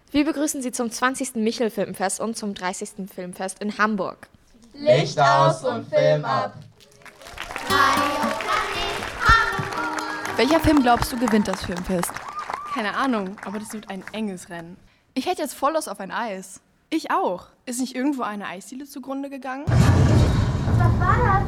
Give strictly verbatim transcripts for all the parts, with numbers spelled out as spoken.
Wir begrüßen Sie zum zwanzigsten Michel-Filmfest und zum dreißigsten Filmfest in Hamburg. Licht aus und Film ab! Welcher Film glaubst du gewinnt das Filmfest? Keine Ahnung, aber das wird ein enges Rennen. Ich hätte jetzt voll Lust auf ein Eis. Ich auch. Ist nicht irgendwo eine Eisdiele zugrunde gegangen? Was war das?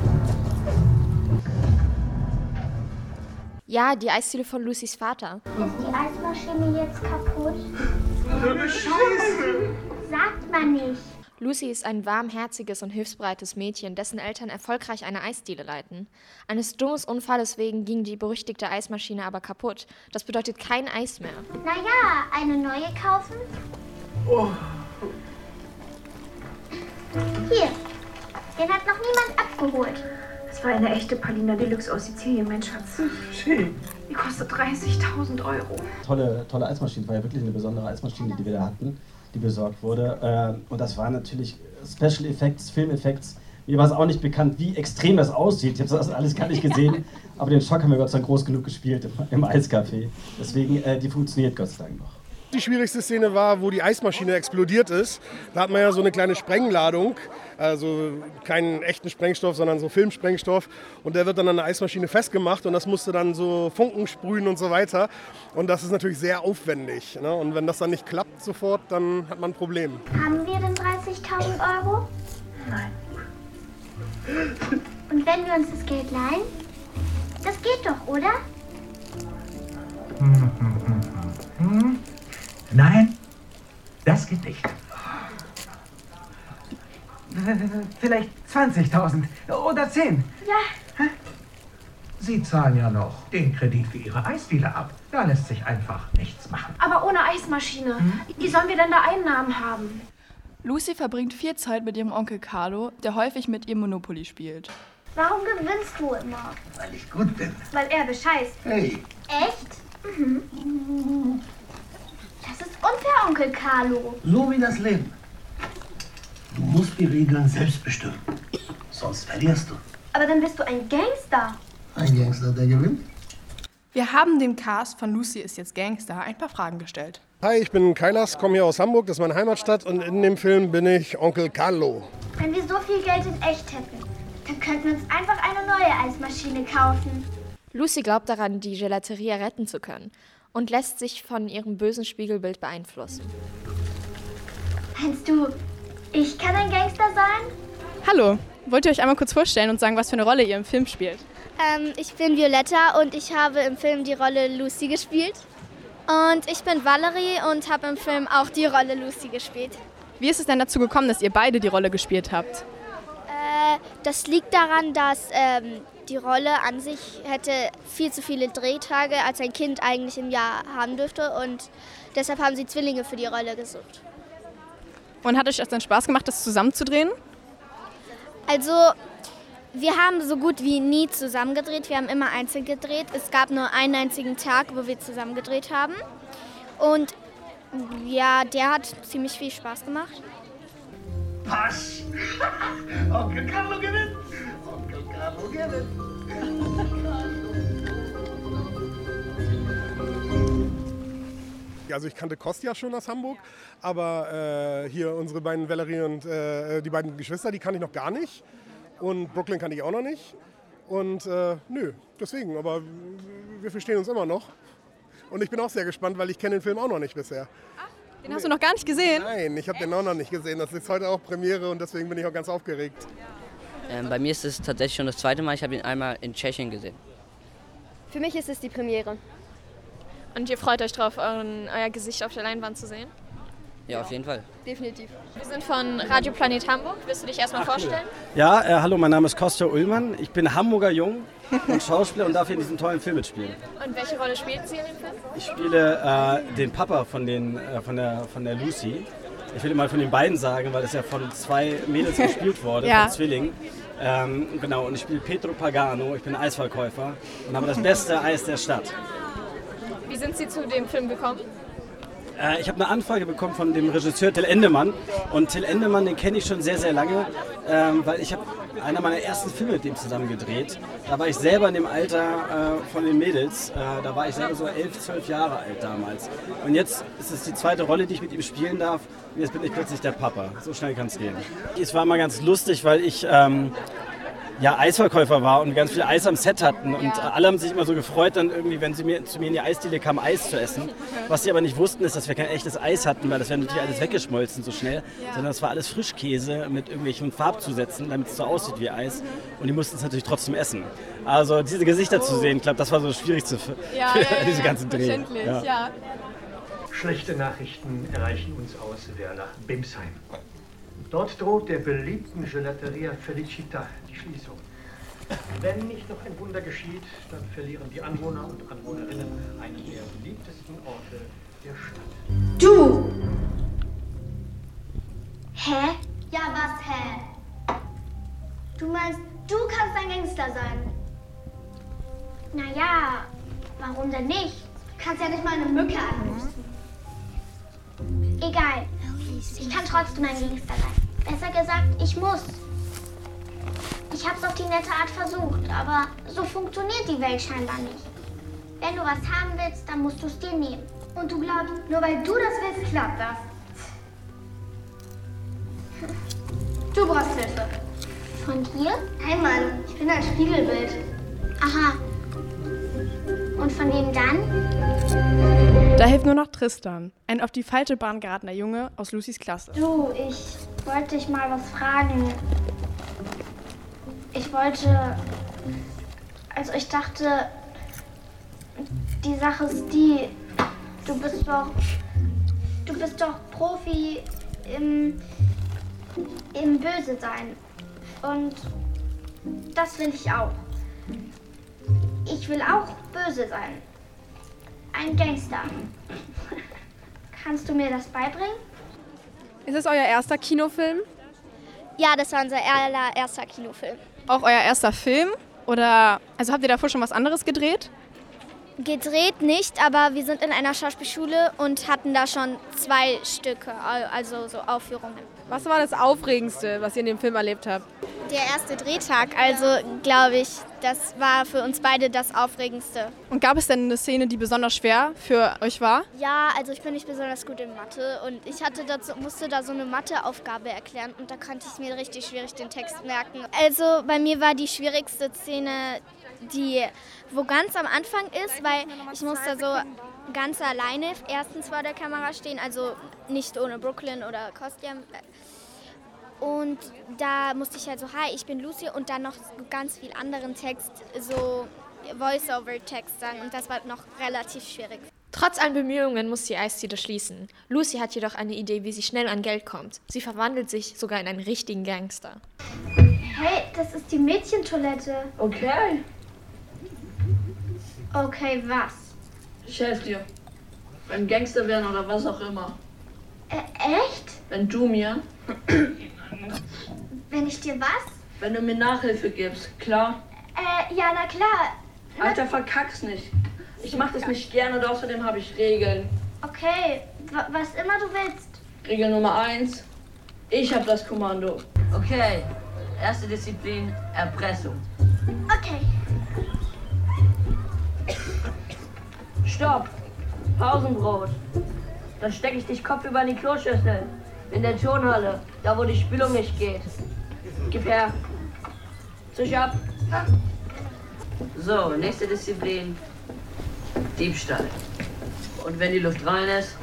Ja, die Eisdiele von Lucys Vater. Ist die Eismaschine jetzt kaputt? Scheiße! Sagt man nicht. Lucy ist ein warmherziges und hilfsbereites Mädchen, dessen Eltern erfolgreich eine Eisdiele leiten. Eines dummen Unfalles wegen ging die berüchtigte Eismaschine aber kaputt. Das bedeutet kein Eis mehr. Naja, eine neue kaufen? Oh. Hier, den hat noch niemand abgeholt. Das war eine echte Palina Deluxe aus Sizilien, mein Schatz. Schön. Die kostet dreißigtausend Euro. Tolle, tolle Eismaschine, war ja wirklich eine besondere Eismaschine, die wir da hatten, die besorgt wurde. Und das waren natürlich Special Effects, Filmeffekts. Mir war es auch nicht bekannt, wie extrem das aussieht. Ich habe das alles gar nicht gesehen, aber den Schock haben wir Gott sei Dank groß genug gespielt im, im Eiscafé. Deswegen, äh, die funktioniert Gott sei Dank noch. Die schwierigste Szene war, wo die Eismaschine explodiert ist. Da hat man ja so eine kleine Sprengladung, also keinen echten Sprengstoff, sondern so Filmsprengstoff. Und der wird dann an der Eismaschine festgemacht und das musste dann so Funken sprühen und so weiter. Und das ist natürlich sehr aufwendig, ne? Und wenn das dann nicht klappt sofort, dann hat man ein Problem. Haben wir denn dreißigtausend Euro? Nein. Und wenn wir uns das Geld leihen? Das geht doch, oder? Hm, hm, hm, hm. Hm. Nein, das geht nicht. Vielleicht zwanzigtausend oder zehn. Ja. Sie zahlen ja noch den Kredit für Ihre Eisdiele ab. Da lässt sich einfach nichts machen. Aber ohne Eismaschine. Hm? Wie sollen wir denn da Einnahmen haben? Lucy verbringt viel Zeit mit ihrem Onkel Carlo, der häufig mit ihr Monopoly spielt. Warum gewinnst du immer? Weil ich gut bin. Weil er bescheißt. Hey. Echt? Mhm. Das ist unfair, Onkel Carlo. So wie das Leben. Du musst die Regeln selbst bestimmen. Sonst verlierst du. Aber dann bist du ein Gangster. Ein Gangster, der gewinnt. Wir haben dem Cast von Lucy ist jetzt Gangster ein paar Fragen gestellt. Hi, ich bin Kailas, komme hier aus Hamburg, das ist meine Heimatstadt und in dem Film bin ich Onkel Carlo. Wenn wir so viel Geld in echt hätten, dann könnten wir uns einfach eine neue Eismaschine kaufen. Lucy glaubt daran, die Gelateria retten zu können und lässt sich von ihrem bösen Spiegelbild beeinflussen. Meinst du, ich kann ein Gangster sein? Hallo, wollt ihr euch einmal kurz vorstellen und sagen, was für eine Rolle ihr im Film spielt? Ähm, ich bin Violetta und ich habe im Film die Rolle Lucy gespielt. Und ich bin Valerie und habe im Film auch die Rolle Lucy gespielt. Wie ist es denn dazu gekommen, dass ihr beide die Rolle gespielt habt? Äh, das liegt daran, dass ähm, die Rolle an sich hätte viel zu viele Drehtage, als ein Kind eigentlich im Jahr haben dürfte. Und deshalb haben sie Zwillinge für die Rolle gesucht. Und hat euch das dann Spaß gemacht, das zusammenzudrehen? Also, wir haben so gut wie nie zusammen gedreht. Wir haben immer einzeln gedreht. Es gab nur einen einzigen Tag, wo wir zusammen gedreht haben. Und ja, der hat ziemlich viel Spaß gemacht. Pass! Onkel Carlo gewinnt! Onkel Carlo gewinnt! Also ich kannte Kostja schon aus Hamburg, aber äh, hier unsere beiden Valerie und äh, die beiden Geschwister, die kannte ich noch gar nicht. Und Brooklyn kannte ich auch noch nicht. Und äh, nö, deswegen, aber wir verstehen uns immer noch. Und ich bin auch sehr gespannt, weil ich kenne den Film auch noch nicht bisher. Ach, den nee. Hast du noch gar nicht gesehen? Nein, ich habe den auch noch nicht gesehen. Das ist heute auch Premiere und deswegen bin ich auch ganz aufgeregt. Ähm, bei mir ist es tatsächlich schon das zweite Mal. Ich habe ihn einmal in Tschechien gesehen. Für mich ist es die Premiere. Und ihr freut euch drauf, euren, euer Gesicht auf der Leinwand zu sehen? Ja, auf jeden Fall. Definitiv. Wir sind von Radio Planet Hamburg. Willst du dich erstmal vorstellen? Ja, äh, hallo, mein Name ist Kostja Ullmann. Ich bin Hamburger Jung und Schauspieler und darf hier in diesem tollen Film mitspielen. Und welche Rolle spielen Sie in dem Film? Ich spiele äh, den Papa von, den, äh, von, der, von der Lucy. Ich will mal von den beiden sagen, weil das ja von zwei Mädels gespielt wurde, ja. von Zwillingen. Ähm, genau, und ich spiele Pietro Pagano. Ich bin Eisverkäufer und habe das beste Eis der Stadt. Wie sind Sie zu dem Film gekommen? Äh, ich habe eine Anfrage bekommen von dem Regisseur Till Endemann. Und Till Endemann, den kenne ich schon sehr, sehr lange, ähm, weil ich habe einer meiner ersten Filme mit dem zusammen gedreht. Da war ich selber in dem Alter äh, von den Mädels. Äh, da war ich selber so elf, zwölf Jahre alt damals. Und jetzt ist es die zweite Rolle, die ich mit ihm spielen darf. Und jetzt bin ich plötzlich der Papa. So schnell kann es gehen. Es war mal ganz lustig, weil ich... Ähm, ja, Eisverkäufer war und ganz viel Eis am Set hatten und ja. alle haben sich immer so gefreut, dann irgendwie, wenn sie mir, zu mir in die Eisdiele kamen, Eis zu essen. Was sie aber nicht wussten, ist, dass wir kein echtes Eis hatten, weil das wäre natürlich alles weggeschmolzen so schnell, ja. sondern das war alles Frischkäse mit irgendwelchen Farbzusätzen, damit es so aussieht wie Eis und die mussten es natürlich trotzdem essen. Also diese Gesichter oh. zu sehen, ich glaube, das war so das Schwierigste für, ja, für ja, ja, diese ganzen Dreh. Verständlich, ja. ja. Schlechte Nachrichten erreichen uns aus Werlach-Bimsheim. Dort droht der beliebten Gelateria Felicita die Schließung. Wenn nicht noch ein Wunder geschieht, dann verlieren die Anwohner und Anwohnerinnen einen der beliebtesten Orte der Stadt. Du! Hä? Ja, was hä? Du meinst, du kannst ein Gangster sein? Naja, warum denn nicht? Du kannst ja nicht mal eine Mücke anrufen. Egal, ich kann trotzdem ein Gangster sein. Besser gesagt, ich muss. Ich hab's auf die nette Art versucht, aber so funktioniert die Welt scheinbar nicht. Wenn du was haben willst, dann musst du es dir nehmen. Und du glaubst, nur weil du das willst, klappt das. Du brauchst Hilfe. Von dir? Nein, Mann, ich bin ein Spiegelbild. Aha. Und von wem dann? Da hilft nur noch Tristan, ein auf die falsche Bahn geratener Junge aus Lucys Klasse. Du, ich wollte dich mal was fragen. Ich wollte, also ich dachte, die Sache ist die, du bist doch, du bist doch Profi im, im Böse sein. Und das will ich auch. Ich will auch böse sein. Ein Gangster. Kannst du mir das beibringen? Ist es euer erster Kinofilm? Ja, das war unser allererster Kinofilm. Auch euer erster Film? Oder, also habt ihr davor schon was anderes gedreht? Gedreht nicht, aber wir sind in einer Schauspielschule und hatten da schon zwei Stücke, also so Aufführungen. Was war das Aufregendste, was ihr in dem Film erlebt habt? Der erste Drehtag, also glaube ich, das war für uns beide das Aufregendste. Und gab es denn eine Szene, die besonders schwer für euch war? Ja, also ich bin nicht besonders gut in Mathe und ich hatte dazu, musste da so eine Matheaufgabe erklären und da konnte ich mir richtig schwierig den Text merken. Also bei mir war die schwierigste Szene, die wo ganz am Anfang ist, weil ich musste so ganz alleine erstens vor der Kamera stehen, also nicht ohne Brooklyn oder Kostja. Und da musste ich halt so, hi, ich bin Lucy und dann noch ganz viel anderen Text, so Voice-over-Text sagen und das war noch relativ schwierig. Trotz allen Bemühungen muss die Eisdiele schließen. Lucy hat jedoch eine Idee, wie sie schnell an Geld kommt. Sie verwandelt sich sogar in einen richtigen Gangster. Hey, das ist die Mädchentoilette. Okay. Okay, was? Ich helfe dir. Beim Gangster werden oder was auch immer. Äh, echt? Wenn du mir... Wenn ich dir was? Wenn du mir Nachhilfe gibst, klar? Äh, ja, na klar. Alter, verkack's nicht. Ich mach das nicht gerne und außerdem habe ich Regeln. Okay, w- was immer du willst. Regel Nummer eins. Ich habe das Kommando. Okay, erste Disziplin, Erpressung. Okay. Stopp. Pausenbrot. Dann stecke ich dich kopfüber in die Kloschüssel. In der Turnhalle, da wo die Spülung nicht geht. Gib her. Zisch ab. So, nächste Disziplin, Diebstahl. Und wenn die Luft rein ist,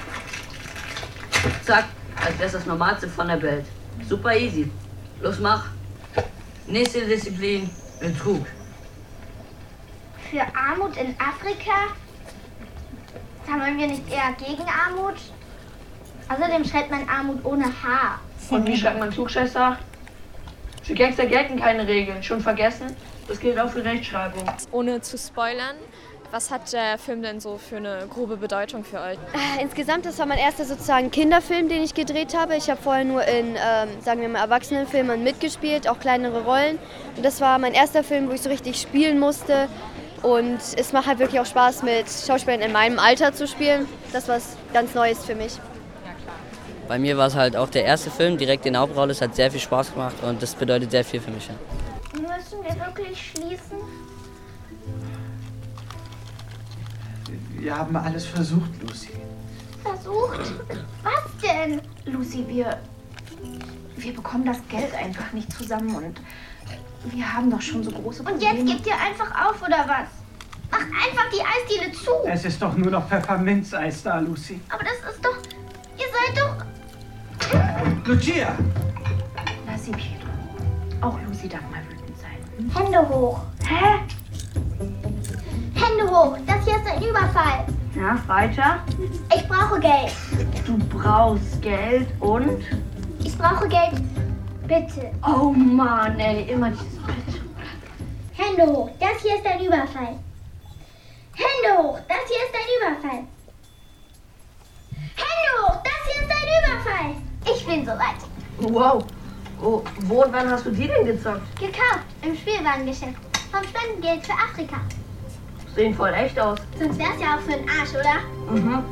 zack, als wär's das Normalste von der Welt. Super easy. Los, mach. Nächste Disziplin, Betrug. Für Armut in Afrika? Sammeln wir nicht eher gegen Armut? Außerdem schreibt man Armut ohne H. Und wie schreibt man Klugscheißer? Für Gangster gelten keine Regeln. Schon vergessen? Das gilt auch für Rechtschreibung. Ohne zu spoilern, was hat der Film denn so für eine grobe Bedeutung für euch? Insgesamt, das war mein erster sozusagen Kinderfilm, den ich gedreht habe. Ich habe vorher nur in, ähm, sagen wir mal, Erwachsenenfilmen mitgespielt, auch kleinere Rollen. Und das war mein erster Film, wo ich so richtig spielen musste. Und es macht halt wirklich auch Spaß, mit Schauspielern in meinem Alter zu spielen. Das ist was ganz Neues für mich. Bei mir war es halt auch der erste Film, direkt in der Hauptrolle. Es hat sehr viel Spaß gemacht und das bedeutet sehr viel für mich. Ja. Müssen wir wirklich schließen? Wir haben alles versucht, Lucy. Versucht? Was denn? Lucy, wir, wir bekommen das Geld einfach nicht zusammen und wir haben doch schon so große Probleme. Und jetzt gebt ihr einfach auf, oder was? Macht einfach die Eisdiele zu. Es ist doch nur noch Pfefferminzeis da, Lucy. Aber das ist doch... Ihr seid doch... Lucia! Lass sie, Pietro. Auch Lucy darf mal wütend sein. Hände hoch. Hä? Hände hoch. Das hier ist ein Überfall. Ja, weiter. Ich brauche Geld. Du brauchst Geld und? Ich brauche Geld. Bitte. Oh Mann, ey, immer dieses Bitte. Hände hoch. Das hier ist ein Überfall. Hände hoch. Das hier ist ein Überfall. Hände hoch. Das hier ist ein Überfall. Ich bin soweit. Wow. Oh, wo und wann hast du die denn gezockt? Gekauft. Im Spielwarengeschäft. Vom Spendengeld für Afrika. Sehen voll echt aus. Sonst wär's ja auch für den Arsch, oder? Mhm.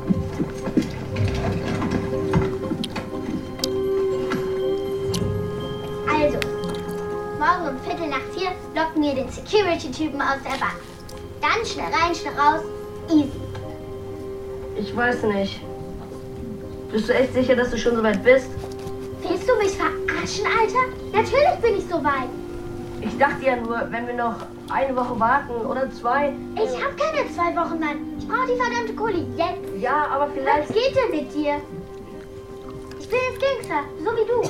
Also, morgen um Viertel nach vier locken wir den Security-Typen aus der Bank. Dann schnell rein, schnell raus. Easy. Ich weiß nicht. Bist du echt sicher, dass du schon so weit bist? Willst du mich verarschen, Alter? Natürlich bin ich so weit. Ich dachte ja nur, wenn wir noch eine Woche warten oder zwei... Ich hab keine zwei Wochen, Mann. Ich brauche die verdammte Kohle jetzt. Ja, aber vielleicht... Was geht denn mit dir? Ich bin jetzt Gangster, so wie du.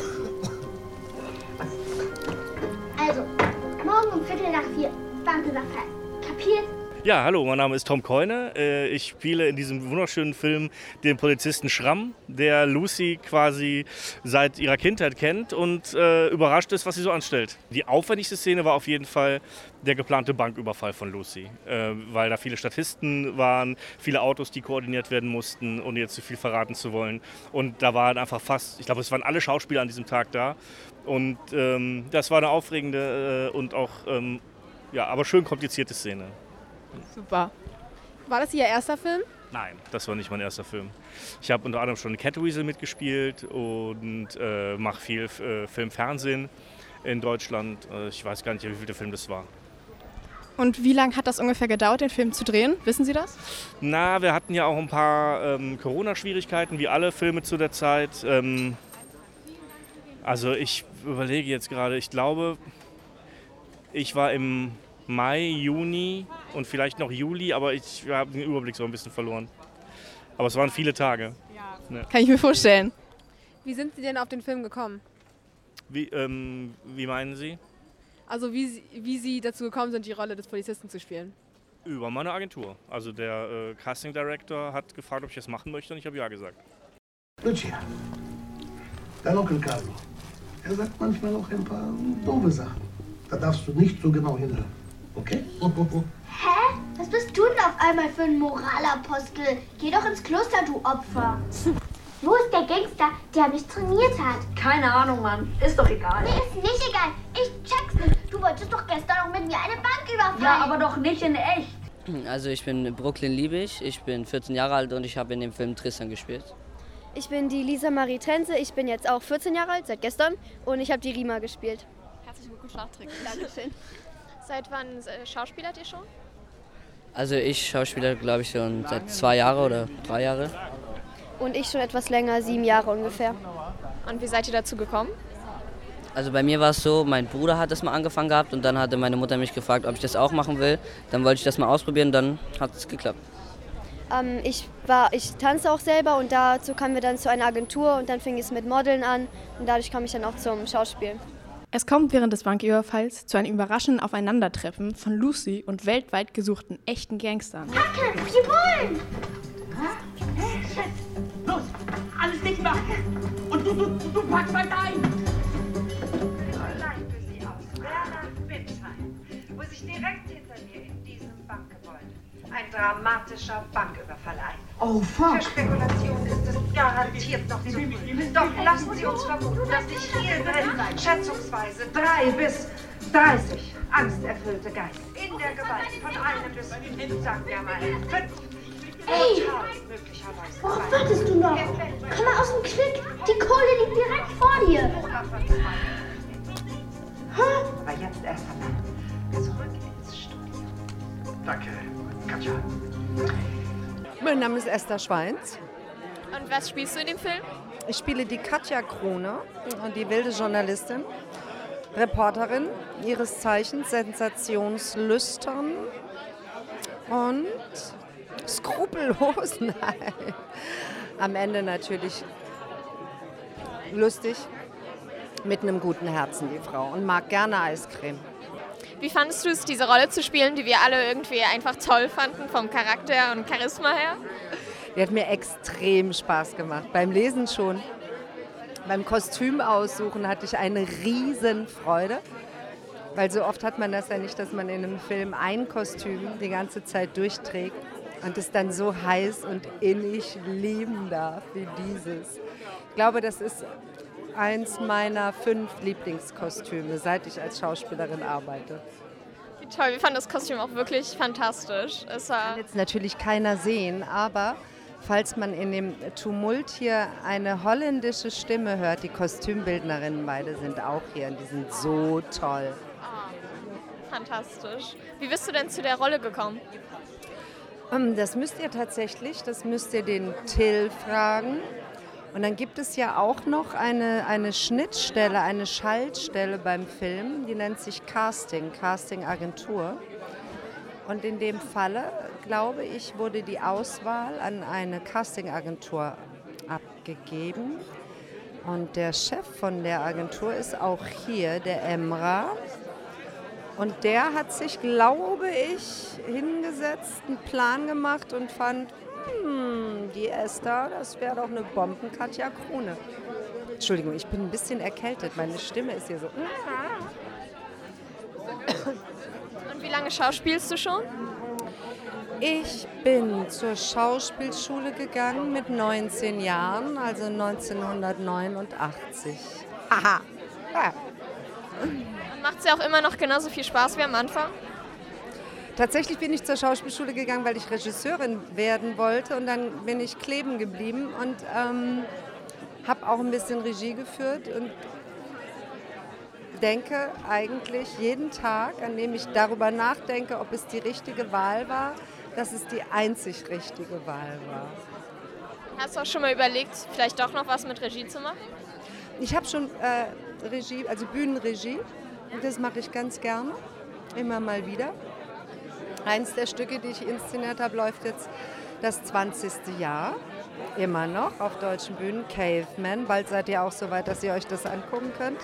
Also, morgen um Viertel nach vier, Banküberfall. Kapiert? Ja, hallo, mein Name ist Tom Keune. Ich spiele in diesem wunderschönen Film den Polizisten Schramm, der Lucy quasi seit ihrer Kindheit kennt und äh, überrascht ist, was sie so anstellt. Die aufwendigste Szene war auf jeden Fall der geplante Banküberfall von Lucy, äh, weil da viele Statisten waren, viele Autos, die koordiniert werden mussten, ohne jetzt zu viel verraten zu wollen. Und da waren einfach fast, ich glaube, es waren alle Schauspieler an diesem Tag da. Und ähm, das war eine aufregende äh, und auch, ähm, ja, aber schön komplizierte Szene. Super. War das Ihr erster Film? Nein, das war nicht mein erster Film. Ich habe unter anderem schon Catweasel mitgespielt und äh, mache viel äh, Film, Fernsehen in Deutschland. Äh, ich weiß gar nicht, wie viel der Film das war. Und wie lange hat das ungefähr gedauert, den Film zu drehen? Wissen Sie das? Na, wir hatten ja auch ein paar ähm, Corona-Schwierigkeiten, wie alle Filme zu der Zeit. Ähm, also ich überlege jetzt gerade, ich glaube, ich war im Mai, Juni und vielleicht noch Juli, aber ich habe den Überblick so ein bisschen verloren. Aber es waren viele Tage. Ja. Ja. Kann ich mir vorstellen. Wie sind Sie denn auf den Film gekommen? Wie, ähm, wie meinen Sie? Also wie, wie Sie dazu gekommen sind, die Rolle des Polizisten zu spielen? Über meine Agentur. Also der äh, Casting Director hat gefragt, ob ich das machen möchte und ich habe ja gesagt. Lucia, dein Onkel Carlo, er sagt manchmal auch ein paar doofe Sachen. Da darfst du nicht so genau hinhören. Okay? Hä? Was bist du denn auf einmal für ein Moralapostel? Geh doch ins Kloster, du Opfer. Wo ist der Gangster, der mich trainiert hat? Keine Ahnung, Mann. Ist doch egal. Mir ist nicht egal. Ich check's nicht. Du wolltest doch gestern noch mit mir eine Bank überfallen. Ja, aber doch nicht in echt. Also ich bin Brooklyn Liebig, ich bin vierzehn Jahre alt und ich habe in dem Film Tristan gespielt. Ich bin die Lisa Marie Trenze, ich bin jetzt auch vierzehn Jahre alt, seit gestern, und ich habe die Rima gespielt. Herzlichen Glückwunsch nachträglich. Dankeschön. Seit wann äh, schauspielert ihr schon? Also ich schauspieler, glaube ich, schon seit zwei Jahren oder drei Jahren. Und ich schon etwas länger, sieben Jahre ungefähr. Und wie seid ihr dazu gekommen? Also bei mir war es so, mein Bruder hat das mal angefangen gehabt und dann hatte meine Mutter mich gefragt, ob ich das auch machen will. Dann wollte ich das mal ausprobieren, dann hat es geklappt. Ähm, ich, war, ich tanze auch selber und dazu kamen wir dann zu einer Agentur und dann fing es mit Modeln an und dadurch kam ich dann auch zum Schauspielen. Es kommt während des Banküberfalls zu einem überraschenden Aufeinandertreffen von Lucy und weltweit gesuchten echten Gangstern. Hacke, wir wollen! Los, alles dicht machen! Und du, du, du packst weiter ein! Allein für Sie aus Werner Bimsheim, wo sich direkt hinter mir in diesem Bankgebäude ein dramatischer Banküberfall ein. Oh, fuck! Für Spekulation ist es garantiert noch zu früh. Doch lassen Sie uns vermuten, dass sich hierin schätzungsweise drei bis dreißig angsterfüllte Geister in der Gewalt von einem bis, sagen wir mal, fünf. Ey, worauf wartest du noch? Komm mal aus dem Quick, die Kohle liegt direkt vor dir. Aber jetzt erst einmal zurück ins Studio. Danke, Katja. Mein Name ist Esther Schweins. Und was spielst du in dem Film? Ich spiele die Katja Krone, die wilde Journalistin, Reporterin, ihres Zeichens sensationslüstern und skrupellos. Nein. Am Ende natürlich lustig, mit einem guten Herzen, die Frau, und mag gerne Eiscreme. Wie fandest du es, diese Rolle zu spielen, die wir alle irgendwie einfach toll fanden, vom Charakter und Charisma her? Die hat mir extrem Spaß gemacht. Beim Lesen schon. Beim Kostüm aussuchen hatte ich eine riesen Freude. Weil so oft hat man das ja nicht, dass man in einem Film ein Kostüm die ganze Zeit durchträgt und es dann so heiß und innig lieben darf wie dieses. Ich glaube, das ist eins meiner fünf Lieblingskostüme, seit ich als Schauspielerin arbeite. Wie toll, wir fanden das Kostüm auch wirklich fantastisch. Es war Kann jetzt natürlich keiner sehen, aber falls man in dem Tumult hier eine holländische Stimme hört, die Kostümbildnerinnen beide sind auch hier und die sind so toll. fantastisch. Wie bist du denn zu der Rolle gekommen? Das müsst ihr tatsächlich, das müsst ihr den Till fragen. Und dann gibt es ja auch noch eine, eine Schnittstelle, eine Schaltstelle beim Film, die nennt sich Casting, Casting-Agentur. Und in dem Falle, glaube ich, wurde die Auswahl an eine Casting-Agentur abgegeben. Und der Chef von der Agentur ist auch hier, der Emra. Und der hat sich, glaube ich, hingesetzt, einen Plan gemacht und fand, hm, die Esther, das wäre doch eine Bomben-Katja Krone. Entschuldigung, ich bin ein bisschen erkältet, meine Stimme ist hier so. Und wie lange schauspielst du schon? Ich bin zur Schauspielschule gegangen mit neunzehn Jahren, also neunzehnhundertneunundachtzig. Haha. Ja. Macht es ja auch immer noch genauso viel Spaß wie am Anfang? Tatsächlich bin ich zur Schauspielschule gegangen, weil ich Regisseurin werden wollte, und dann bin ich kleben geblieben und ähm, habe auch ein bisschen Regie geführt und denke eigentlich jeden Tag, an dem ich darüber nachdenke, ob es die richtige Wahl war, dass es die einzig richtige Wahl war. Hast du auch schon mal überlegt, vielleicht doch noch was mit Regie zu machen? Ich habe schon äh, Regie, also Bühnenregie, und das mache ich ganz gerne, immer mal wieder. Eins der Stücke, die ich inszeniert habe, läuft jetzt das zwanzigste Jahr, immer noch auf deutschen Bühnen, Caveman. Bald seid ihr auch so weit, dass ihr euch das angucken könnt.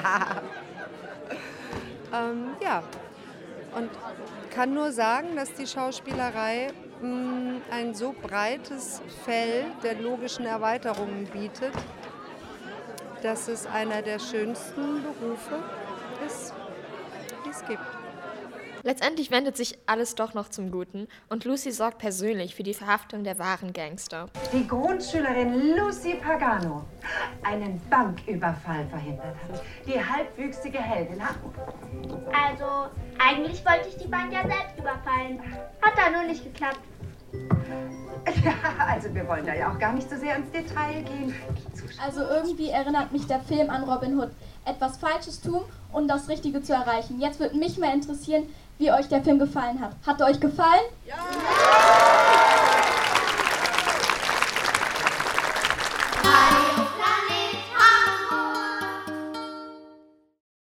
ähm, ja, und kann nur sagen, dass die Schauspielerei mh, ein so breites Feld der logischen Erweiterungen bietet, dass es einer der schönsten Berufe ist, die es gibt. Letztendlich wendet sich alles doch noch zum Guten und Lucy sorgt persönlich für die Verhaftung der wahren Gangster. Die Grundschülerin Lucy Pagano einen Banküberfall verhindert hat. Die halbwüchsige Heldin hat... Also, eigentlich wollte ich die Bank ja selbst überfallen. Hat da nur nicht geklappt. Ja, also wir wollen da ja auch gar nicht so sehr ins Detail gehen. Also irgendwie erinnert mich der Film an Robin Hood. Etwas Falsches tun und das Richtige zu erreichen. Jetzt würde mich mal interessieren, wie euch der Film gefallen hat. Hat er euch gefallen? Ja!